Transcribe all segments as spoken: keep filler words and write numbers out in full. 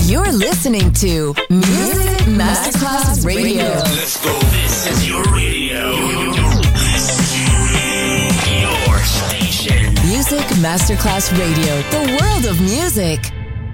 You're listening to Music Masterclass Radio. Let's go. This is your radio. Your station. Music Masterclass Radio. The world of music.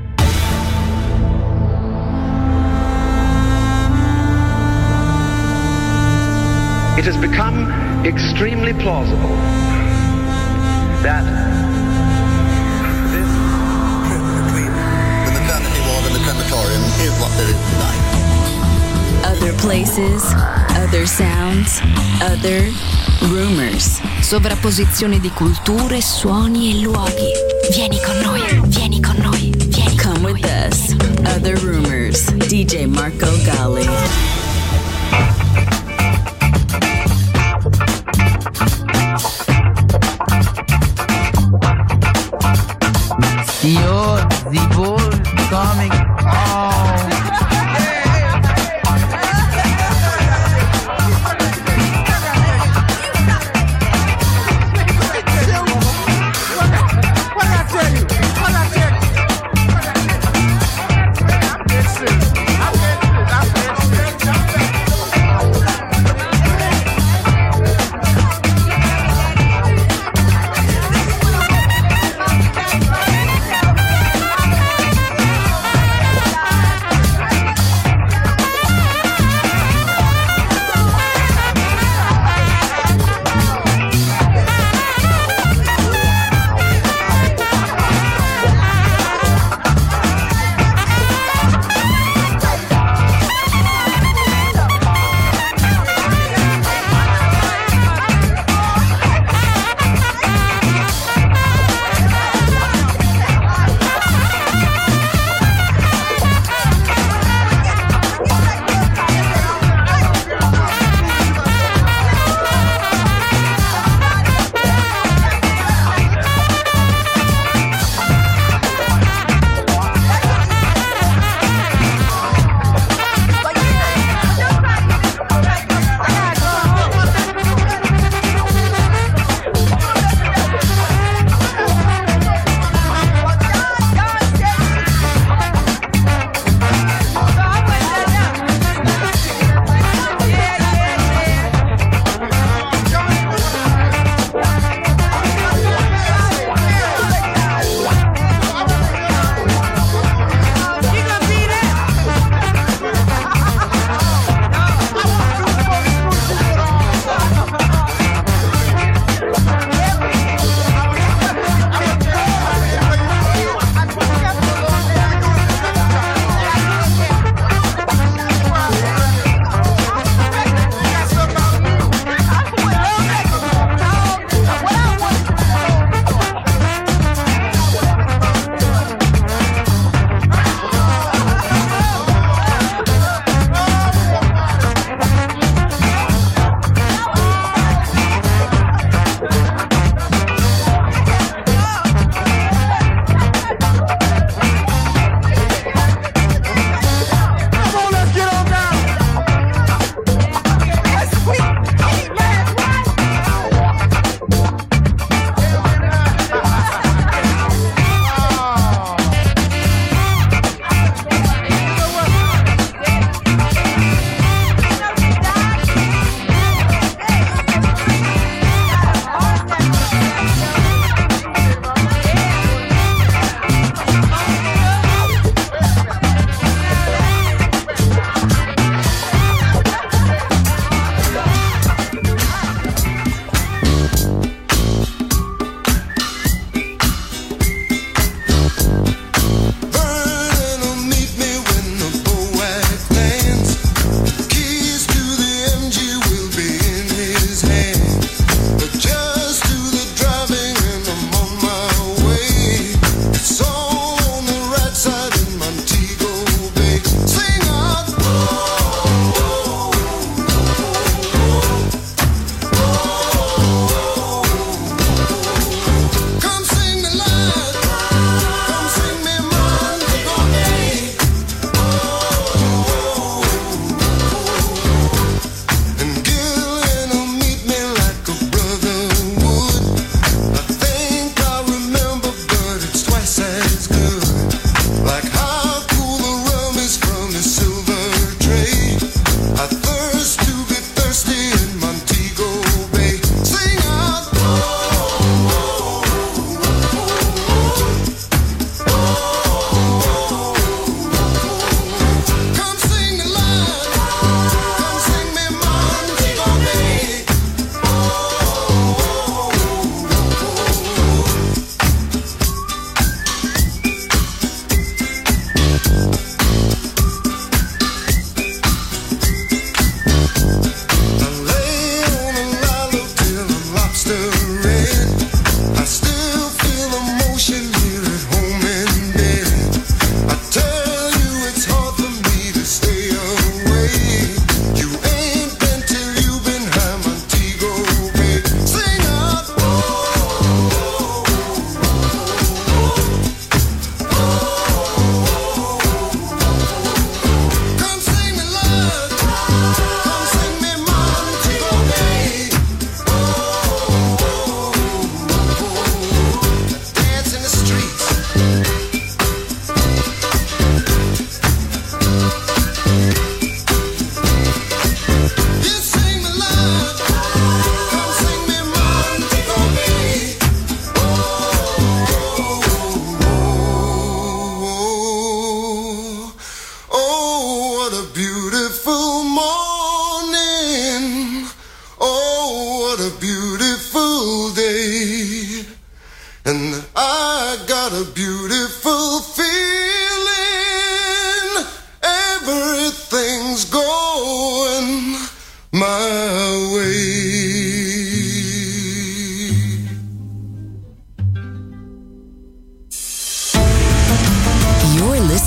It has become extremely plausible that this between the maternity ward and the crematorium is what there is tonight. Other places, other sounds, other rumors. Sovrapposizione di culture, suoni e luoghi. Vieni con noi, vieni con noi, vieni con Come with us. Other Rumors. D J Marco Gally. You're the bull coming on.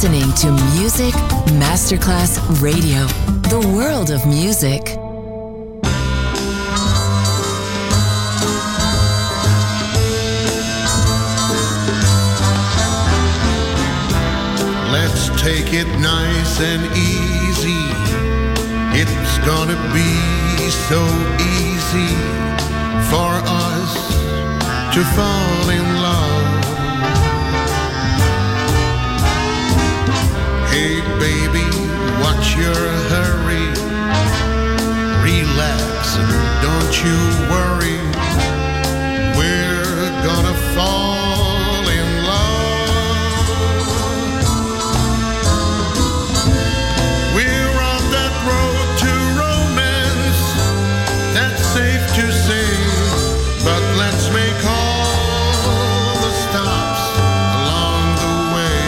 listening to Music Masterclass Radio, the world of music. Let's take it nice and easy. It's gonna be so easy for us to fall in love. Hey baby, what's your hurry? Relax and don't you worry. We're gonna fall in love. We're on that road to romance, that's safe to say, but let's make all the stops along the way.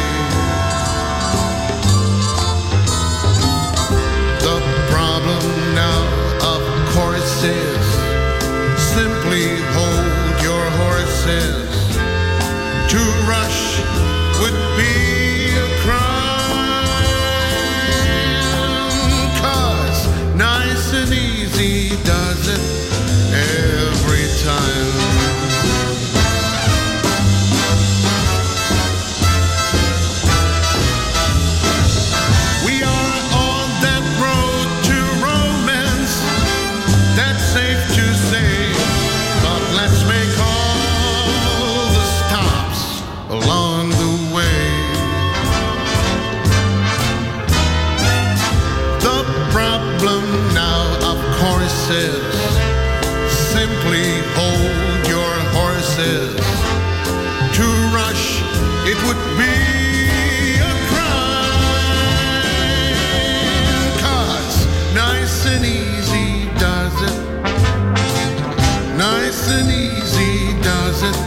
The problem now, of course, is simply hold your horses. To rush would be a crime, 'cause nice and easy does it every time. We are on that road to romance, that's safe to say, but let's make all the stops along the way. The problem now, of course, is simply hold your horses. To rush, it would be a crime, 'cause nice and easy does it. Nice and easy does it.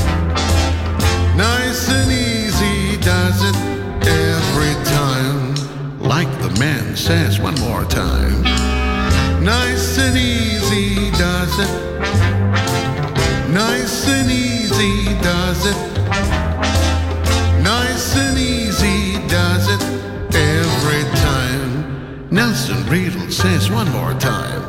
Nice and easy does it every time. Like the man says one more time. Nice and easy does it. Nice and easy does it. Nice and easy does it every time. Nelson Riddle says one more time.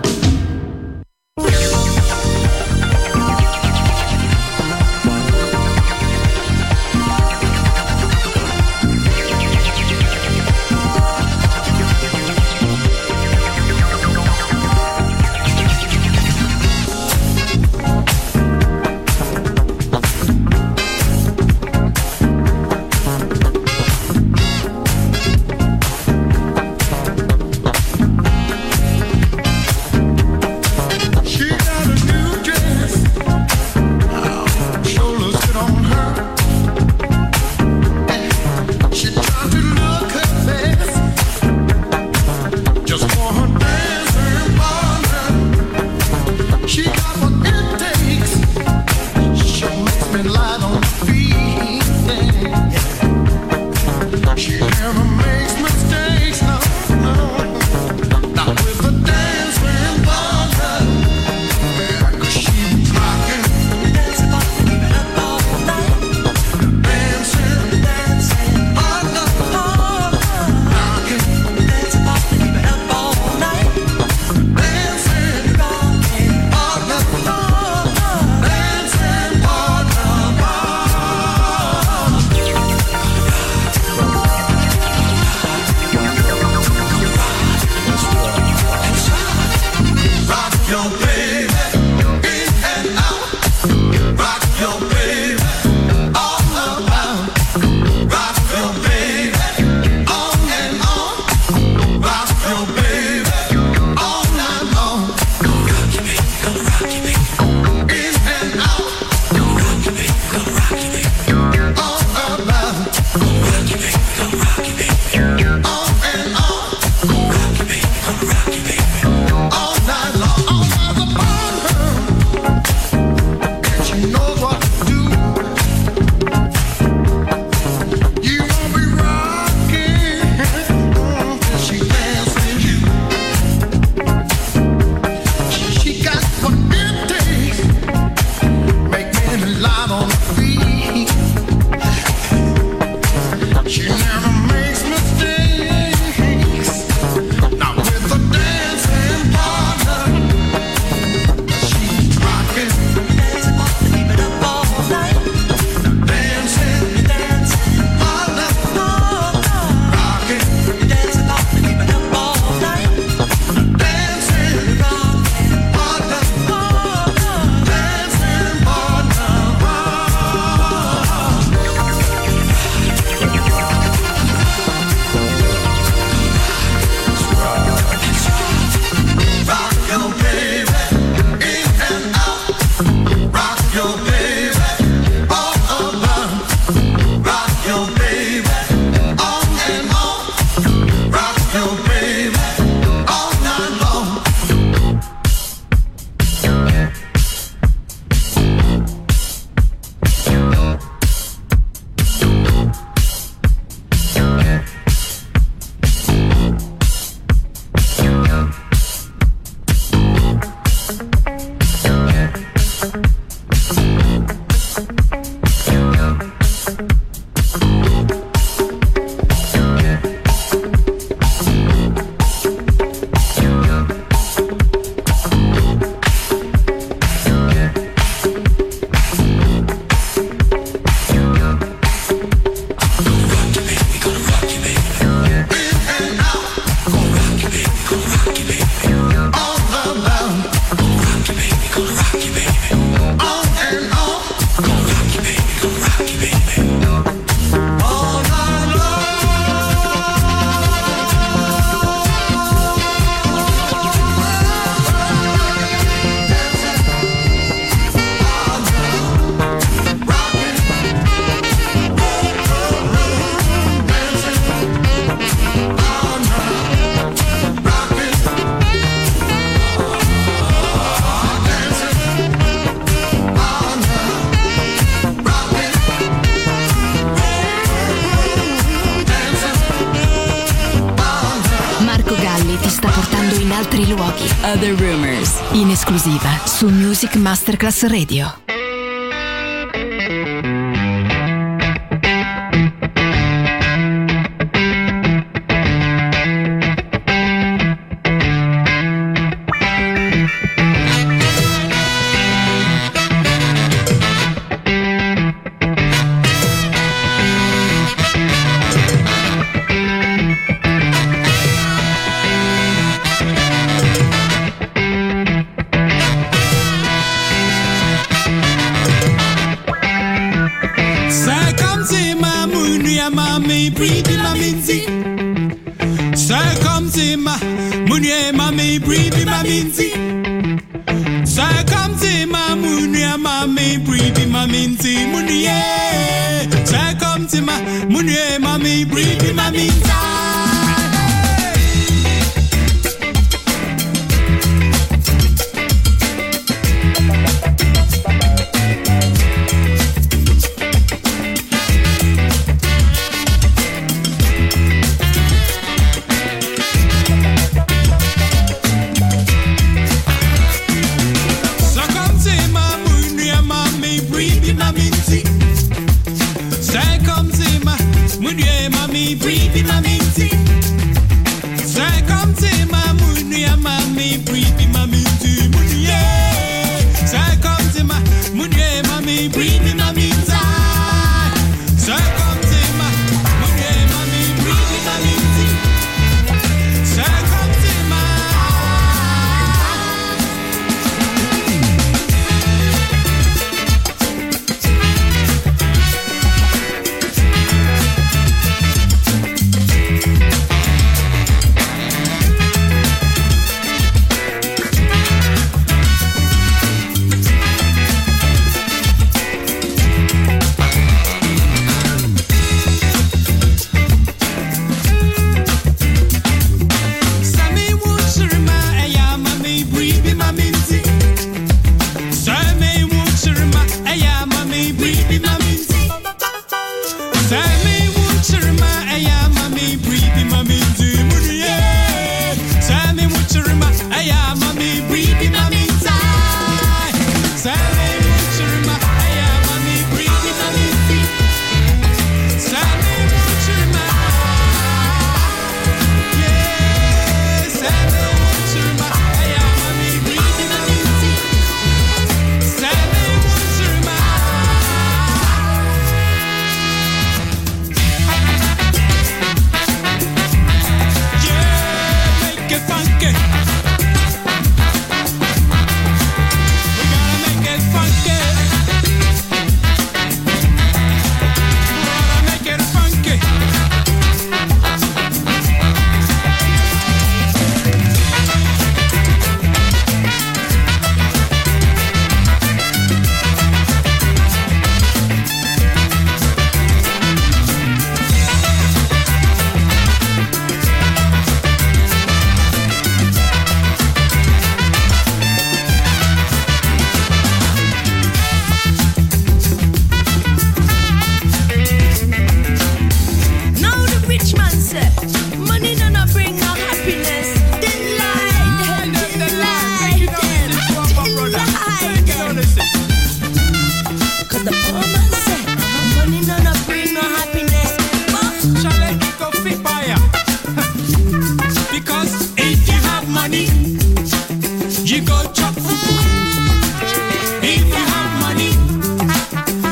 altri luoghi. Other Rumors, in esclusiva su Music Masterclass Radio.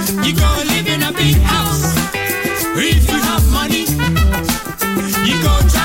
If you have money, you go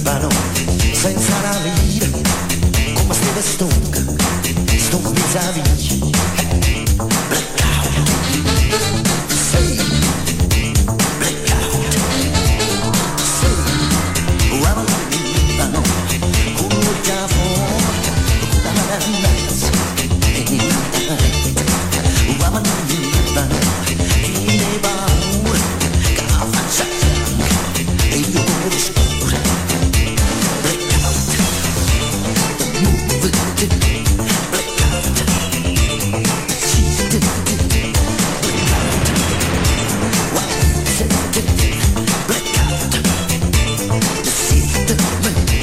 Libano, senza la vita, come Steve Stone, Stone vis-à-vis. Blackout, sei, blackout, sei, uomo di Libano, con un cafone, con la mananza, e niente, uomo di Libano, chi ne paura, che la faccia bianca, e io come lo scuro. Blackout, the movie, blackout, cheated, blackout, wasted, blackout, deceived me.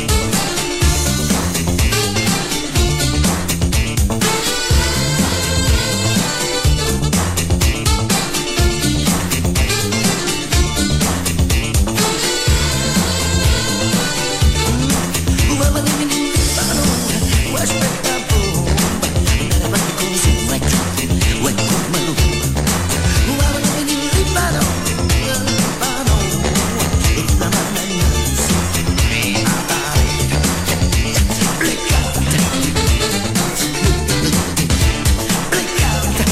Uomo di Libano, aspetta bomba, andare avanti così, vai giù, vai come l'uomo. Uomo di Libano, Libano, una mananza, a dare, blackout, blackout,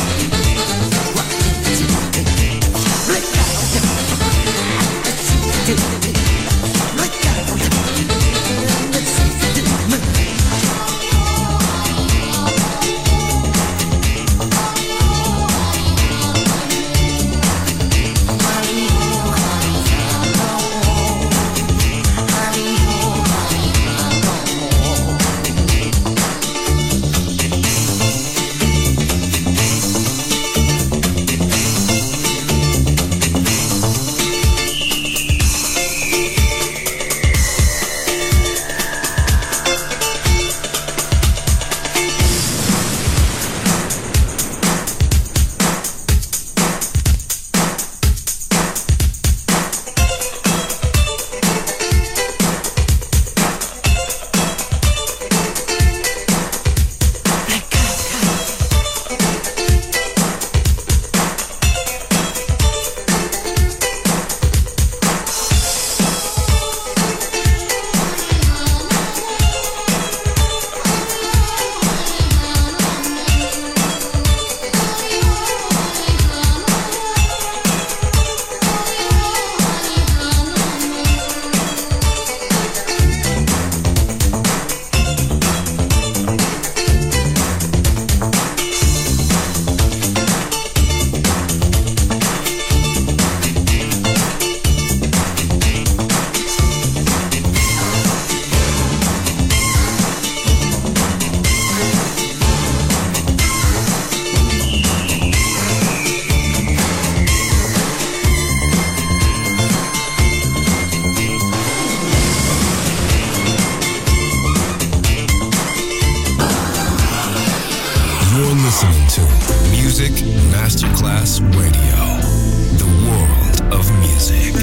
You're listening to Music Masterclass Radio, the world of music.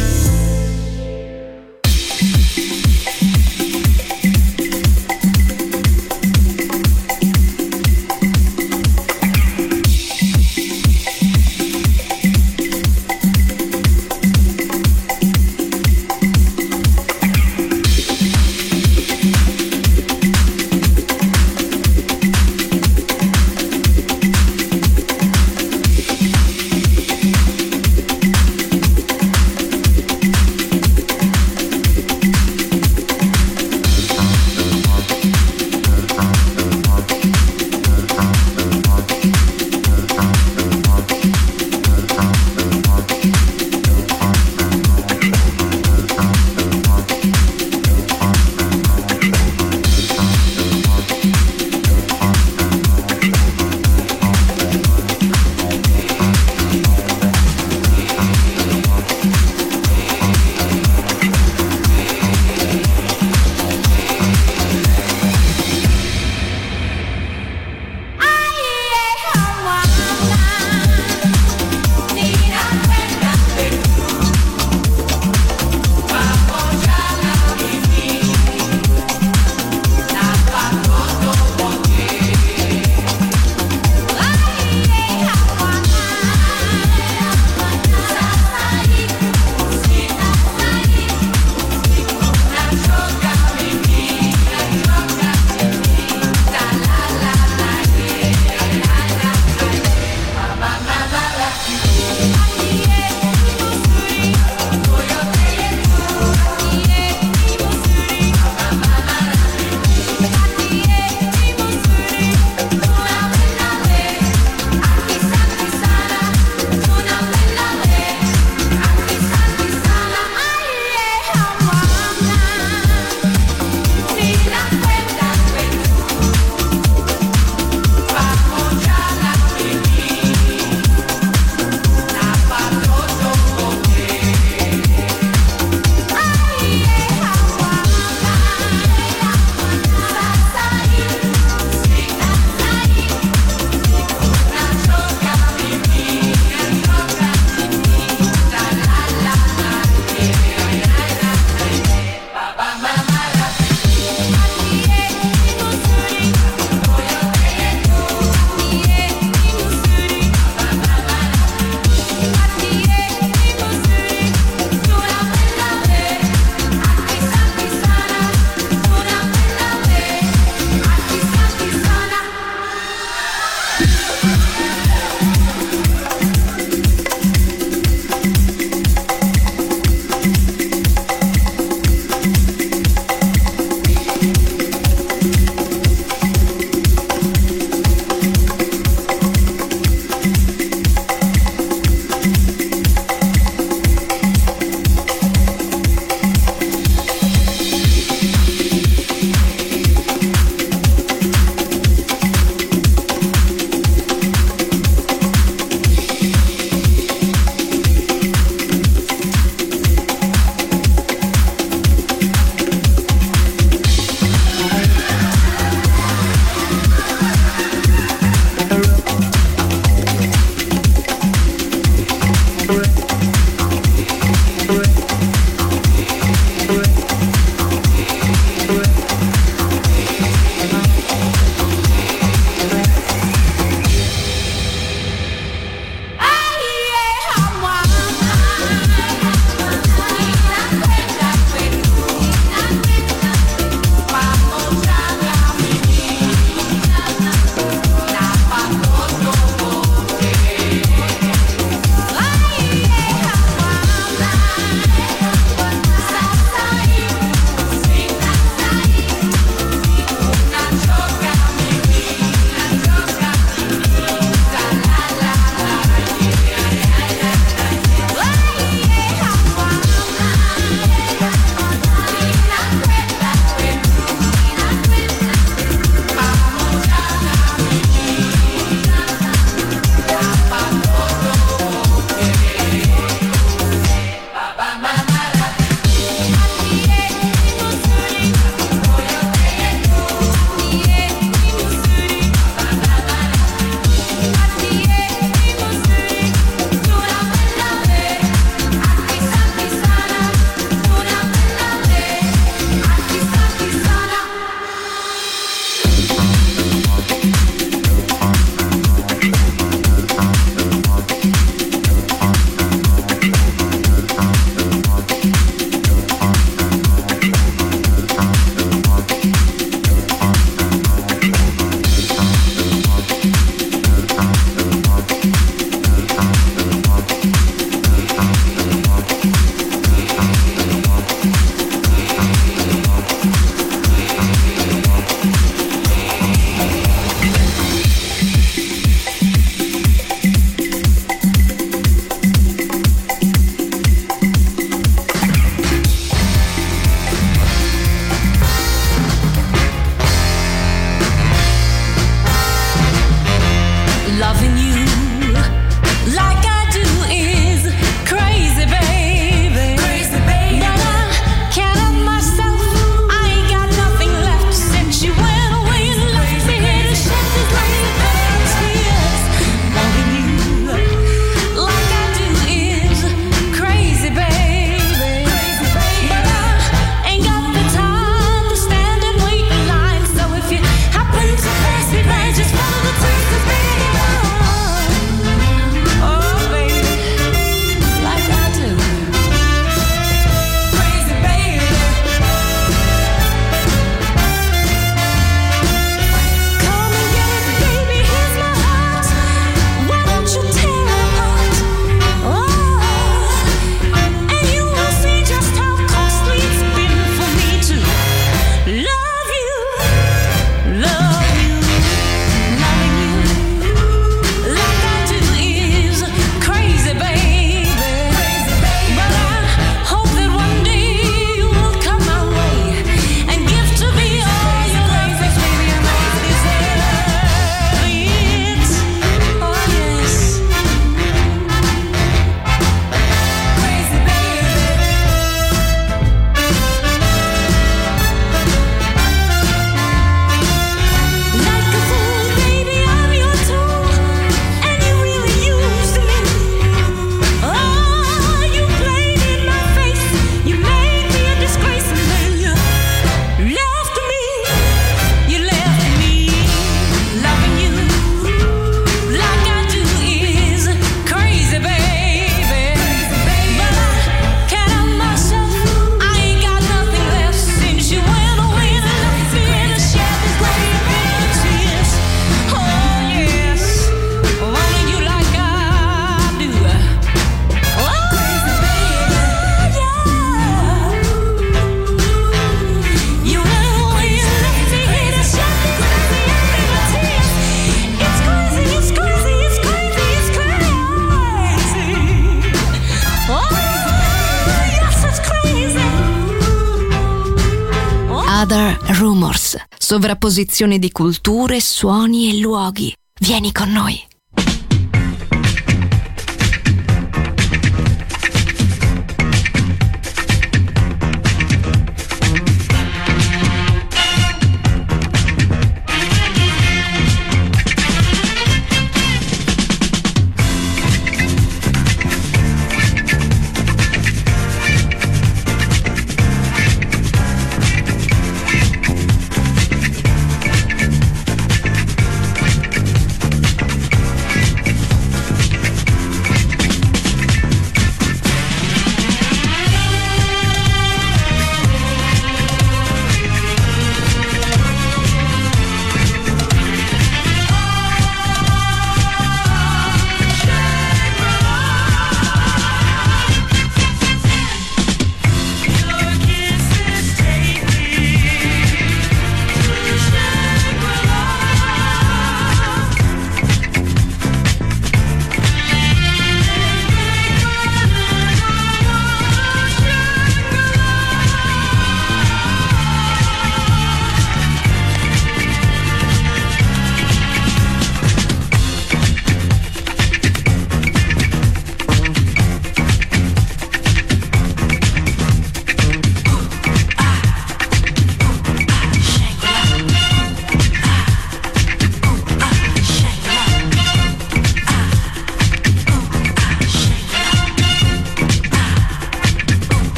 Other Rumors, sovrapposizione di culture, suoni e luoghi. Vieni con noi.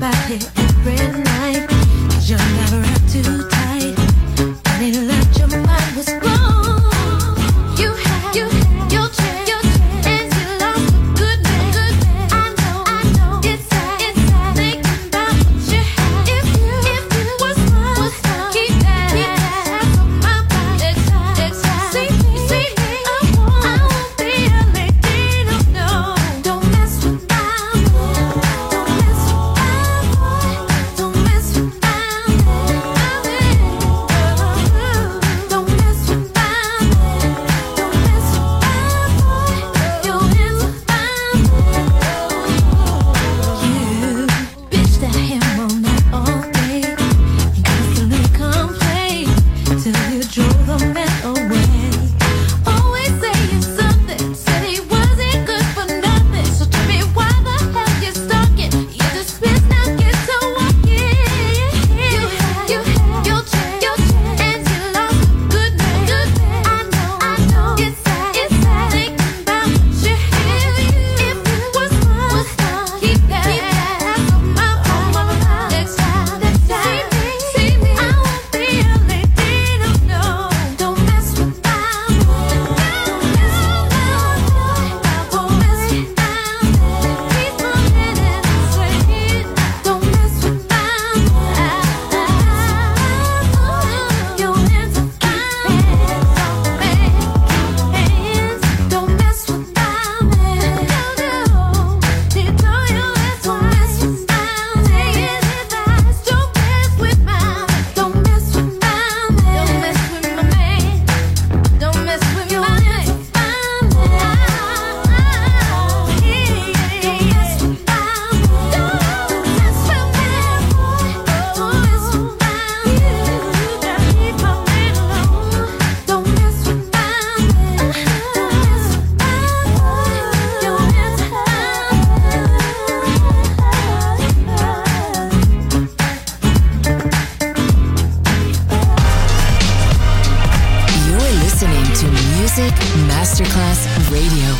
Masterclass Radio.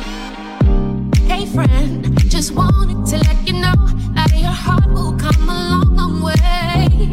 Hey friend, just wanted to let you know that your heart will come a long, long way.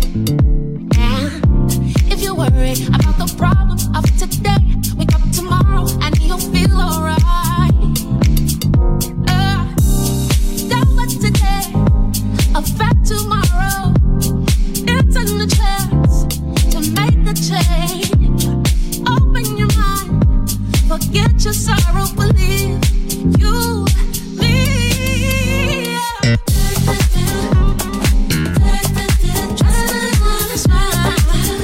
And if you're worried about the problems of today, wake up tomorrow and you'll feel alright. Uh, don't let today affect tomorrow. It's a chance to make a change. Open your mind, forget your sorrow, believe you leave. Trust in the smile,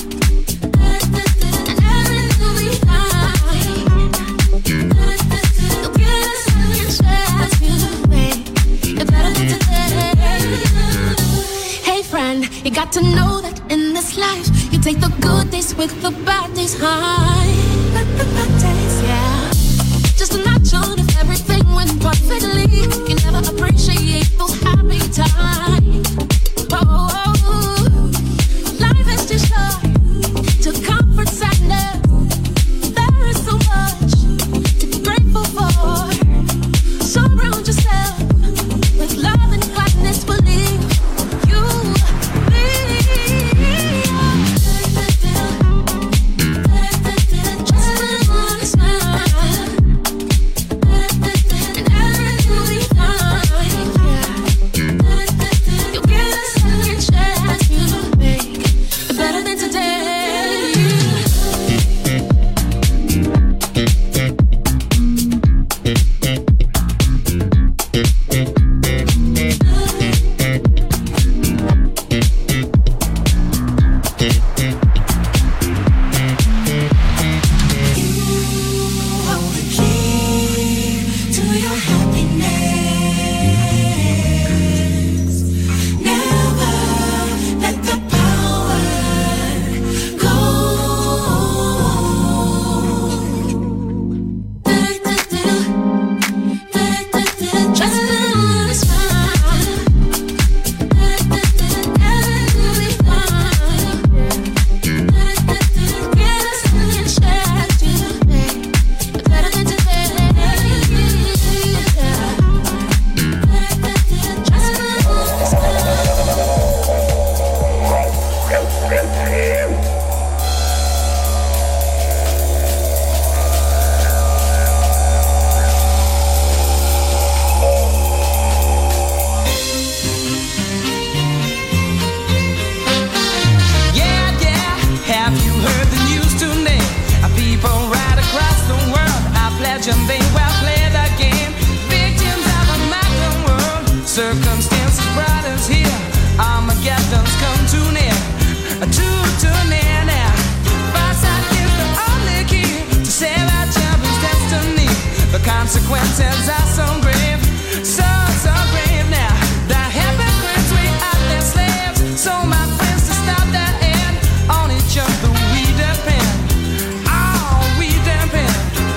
and everything will be fine. You'll get a second chance, you wait. You better than today. Hey friend, you got to know that in this life, you take the good days with the bad days high. The bad days, yeah. Just imagine if everything went perfectly. You never appreciate those happy times. Oh, oh, oh. Life is too short to comfort sadness. There is so much to be grateful for. Surround yourself with love and gladness. Believe you leave. God's bride is here. Armageddon's come too near, too, too near now. Foresight is the only key to save our children's destiny. The consequences are so grave, so, so grave now. The hypocrites, we are their slaves. So my friends, to stop that end, on each other we depend. Oh, we depend.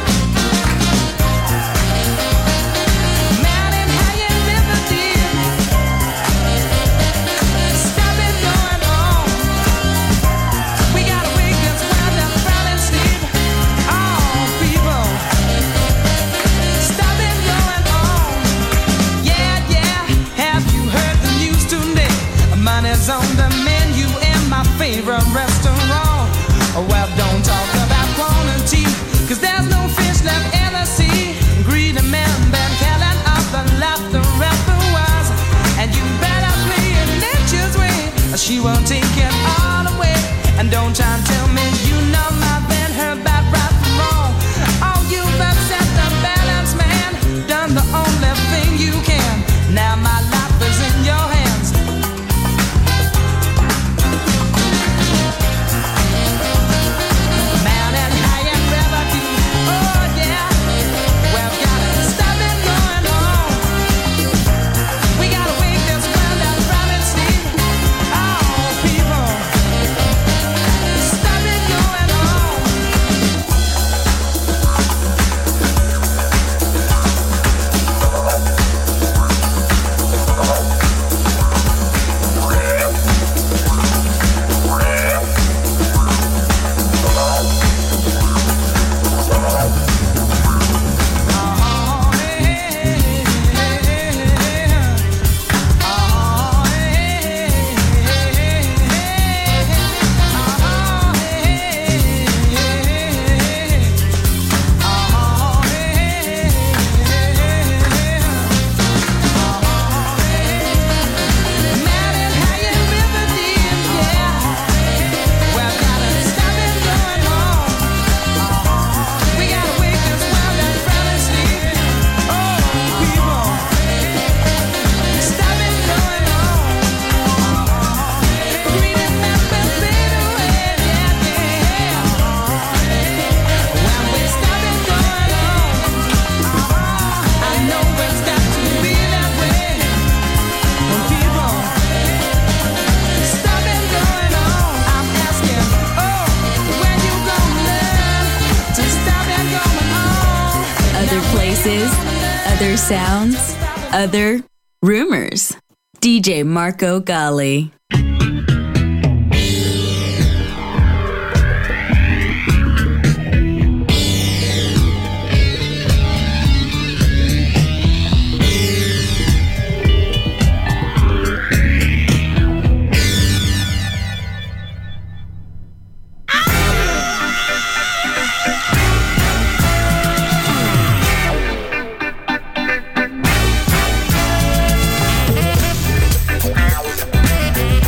Mountain high and river deep, stop it going on. We gotta wake this world up proud and sleep. Oh, people, stop it going on. Yeah, yeah, have you heard the news today? Money's on the menu in my favorite restaurant. Well, don't talk about quantity, cause there's no fish left in the sea. Greedy men been killing off the laughter of the wise. And you better play it nature's way, or she will take it all away. And don't try and tell me you know my been her bad right from wrong. Oh, you've upset the balance, man, done the only thing you can. Now my life is in your hands. Mountain high and river deep, oh yeah. We've gotta stop it going on. We gotta wake this world up from its sleep. Oh, people, stop it going on. Oh, hey, hey, hey, hey. Oh, hey, hey, hey, hey. Oh, hey, hey, hey. Oh, hey, Mountain high and river deep, yeah. We've gotta stop it going on. We gotta wake this world up from its sleep. Oh, people, stop it going on. Greedy men will fade away, yeah, yeah. When we stop it going on, I know it's got to be that way. When people stop it going on, I'm asking, oh, when you gonna learn to stop it going on? Other places, other sounds, other rumors. D J Marco Gally. Thank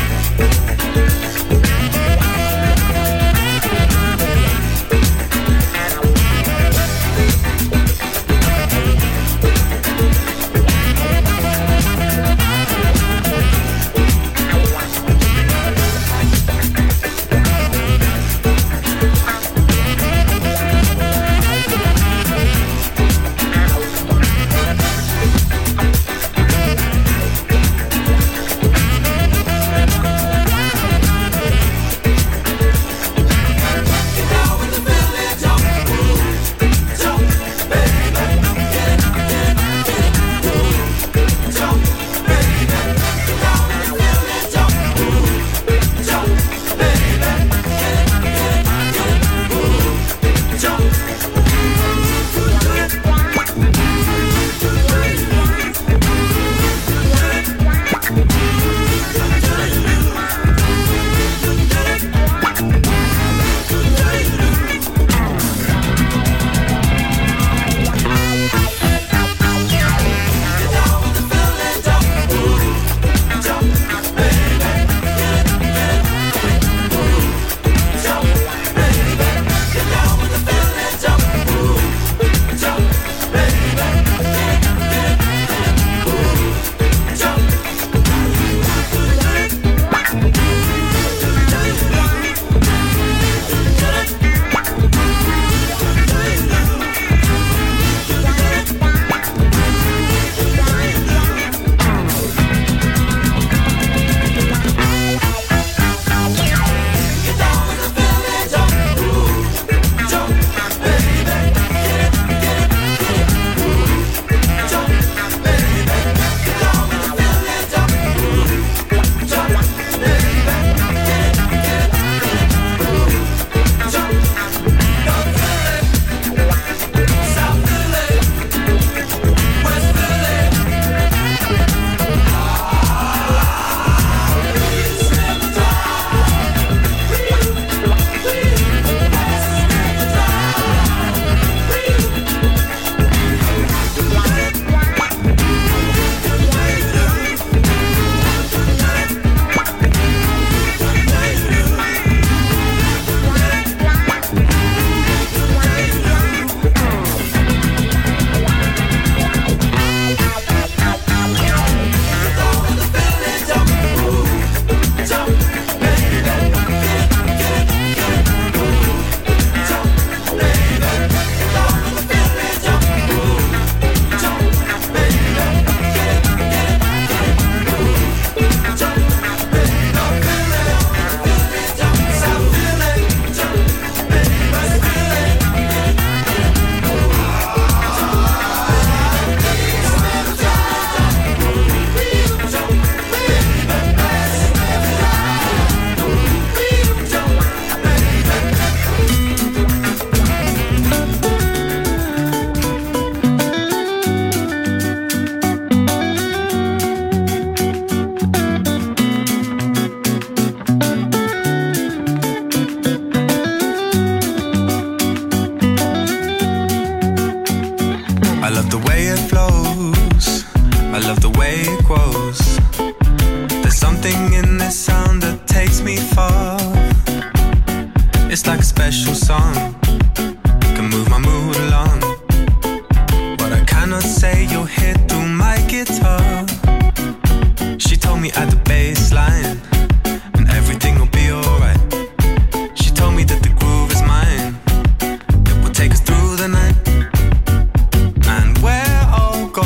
special song can move my mood along. What I cannot say, you'll hear through my guitar. She told me at the bass line, and everything will be alright. She told me that the groove is mine, it will take us through the night. And where I'll go,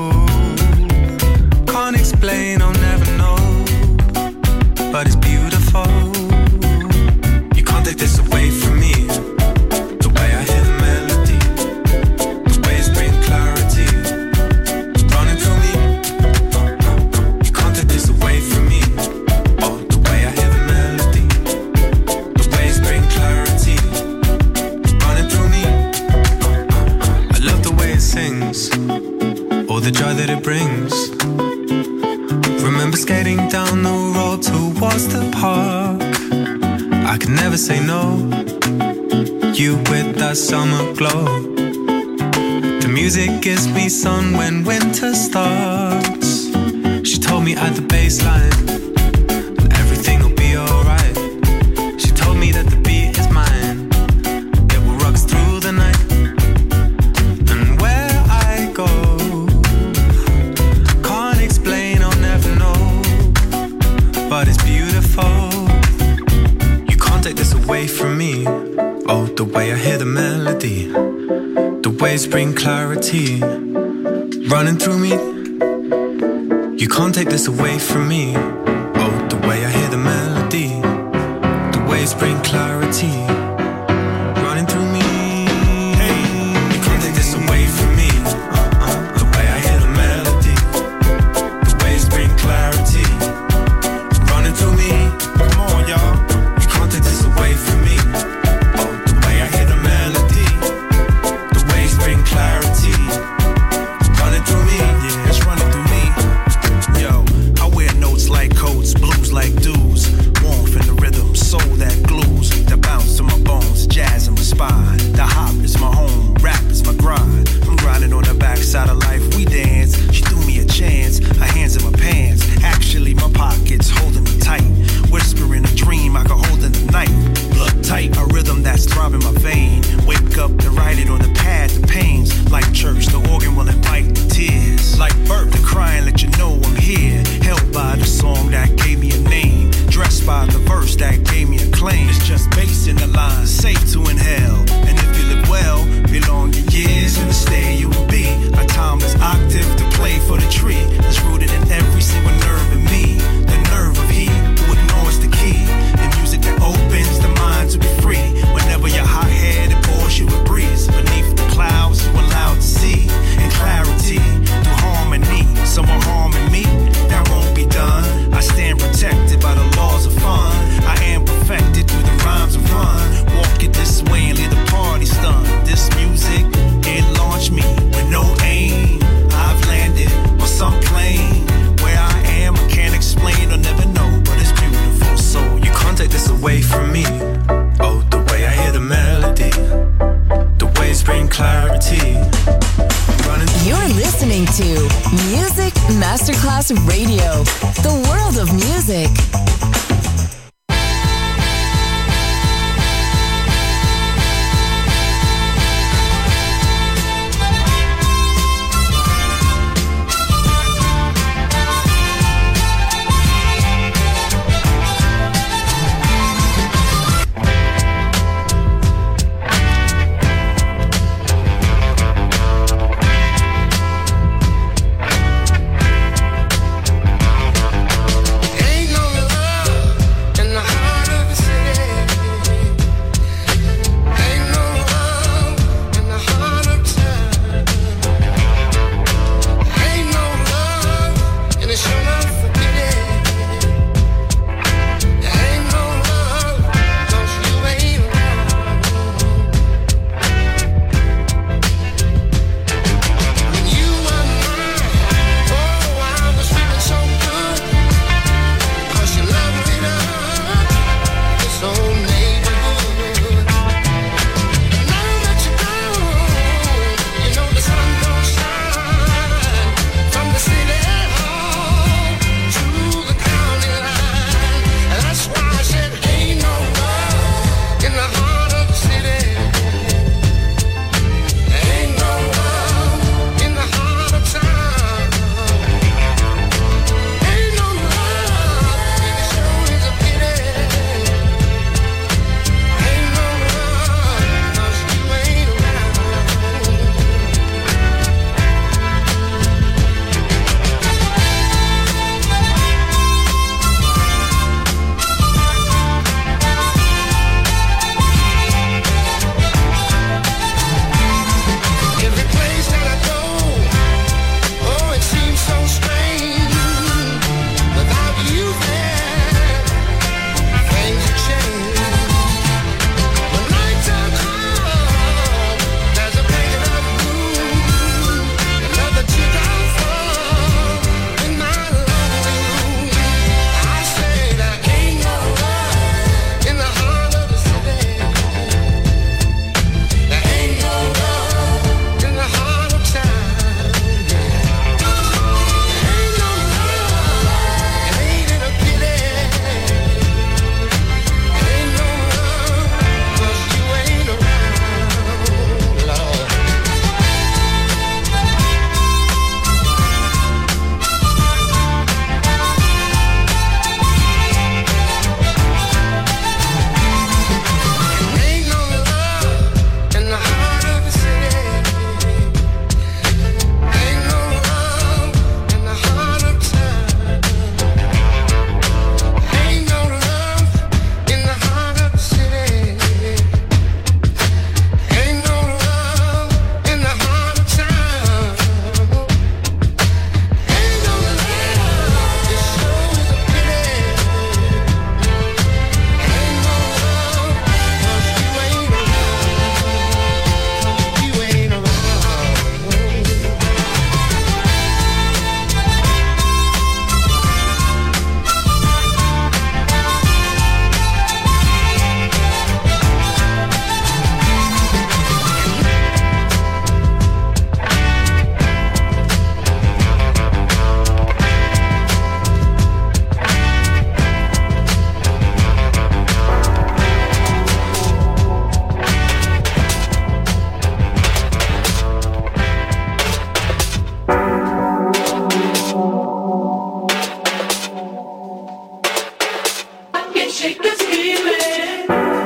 can't explain, I'll never know, but it's beautiful. You can't take this away from me. The way I hear the melody, the waves bring clarity, running through me. You can't take this away from me. Oh, the way I hear the melody, the waves bring clarity, running through me. I love the way it sings, all the joy that it brings. Remember skating down the road towards the park. I could never say no, you with that summer glow. The music gives me sun when winter starts. She told me at the baseline, and everything will be alright. She told me that the beat is mine, it will rock us through the night. And where I go, can't explain, I'll never know, but it's beautiful. You can't take this away from me. Oh, the way I hear the melody, the waves bring clarity, running through me. You can't take this away from me. Oh, the way I hear the melody, the waves bring clarity, running through me. Hey, you can't take this away from me. Uh-uh. The way I hear the melody, the waves bring clarity, running through me. Come on, y'all. You can't take this away from me. Oh, the way I hear the melody, the waves bring clarity, running through me. Yeah, it's running through me. Yo, I wear notes like coats, blues like dudes, warmth in the rhythm, soul that glues, that bounce to my bones, jazz in my spine. The hop is my home, rap is my grind. I'm grinding on the backside of life, we dance. She threw me a chance, her hands in my pants. Actually, my pockets holding me tight. Whispering a dream I could hold in the night. Blood tight, a rhythm that's throbbing my vein. Wake up to write it on the pad, the pains. Like church, the organ will invite the tears. Like birth, the crying let you know I'm here. Held by the song that gave me a name. Dressed by the verse that gave me a claim. It's just bass in the line, safe to inhale. And if you live well, belong your years in the stay you will be. A timeless octave to play for the tree. That's rooted in every single nerve in me. The nerve of he who ignores the key. The music that opens the mind to be free. Whenever you're hot-headed, it pours you a breeze. Beneath the clouds, you allowed to see. In clarity, through harmony. Someone harming me, that won't be done. I stand protected by the laws of fun. I am perfected through the rhymes of run. Walk it this way and leave the party stunned. This music, it launched me with no aim. I've landed on some plane. Where I am, I can't explain or never know, but it's beautiful. So You can't take this away from me. Oh, the way I hear the melody, the waves bring clarity, running. You're listening to Music Masterclass Radio, the world of music. Ain't no love shake this feeling.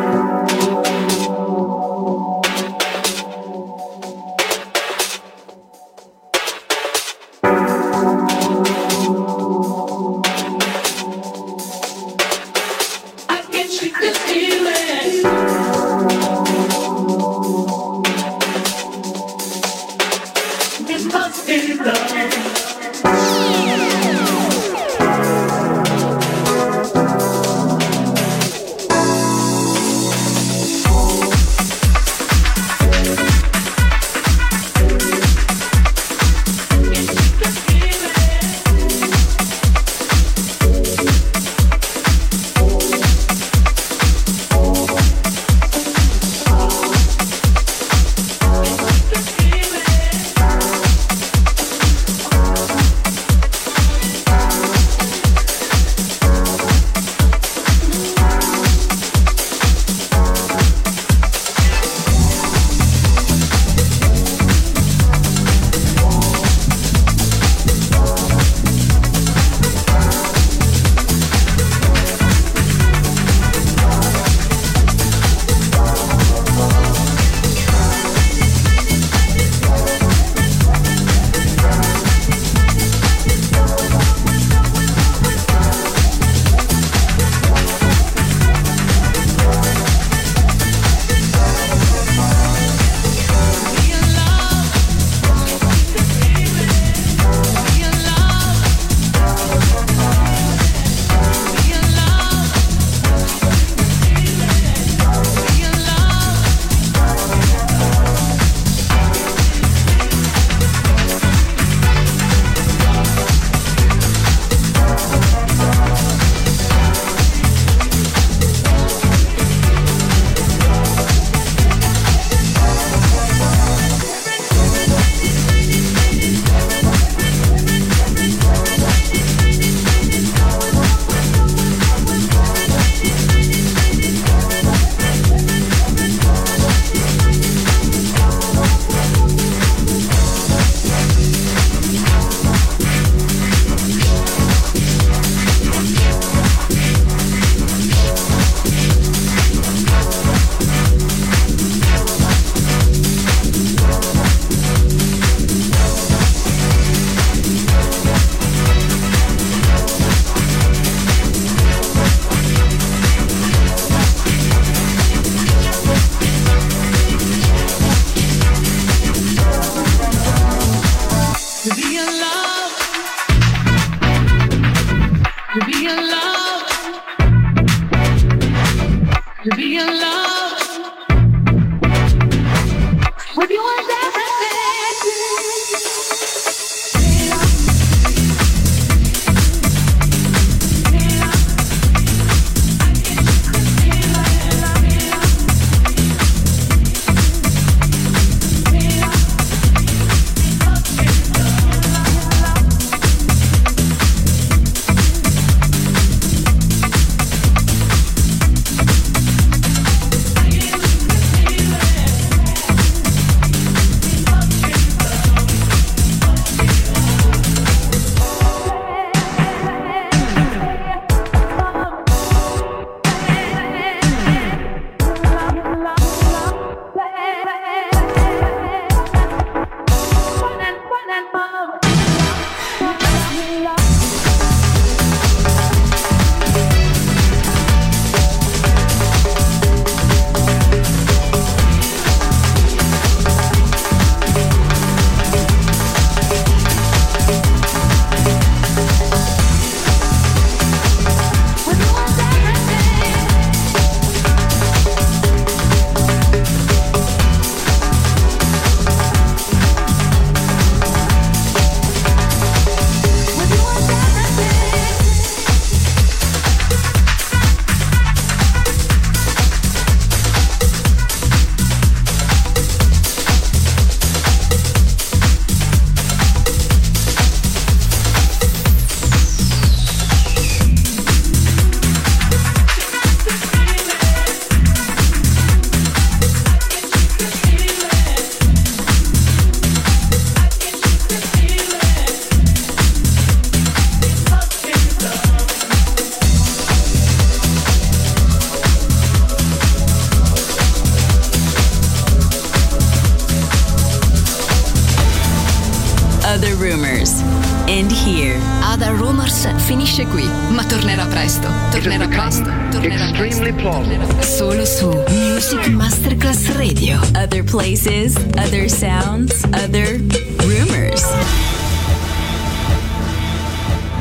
I can shake this feeling. We must be loved. House finisce qui, ma tornerà presto. Tornerà presto. Tornerà extremely plausible. Solo su Music Masterclass Radio. Other places, other sounds, other rumors.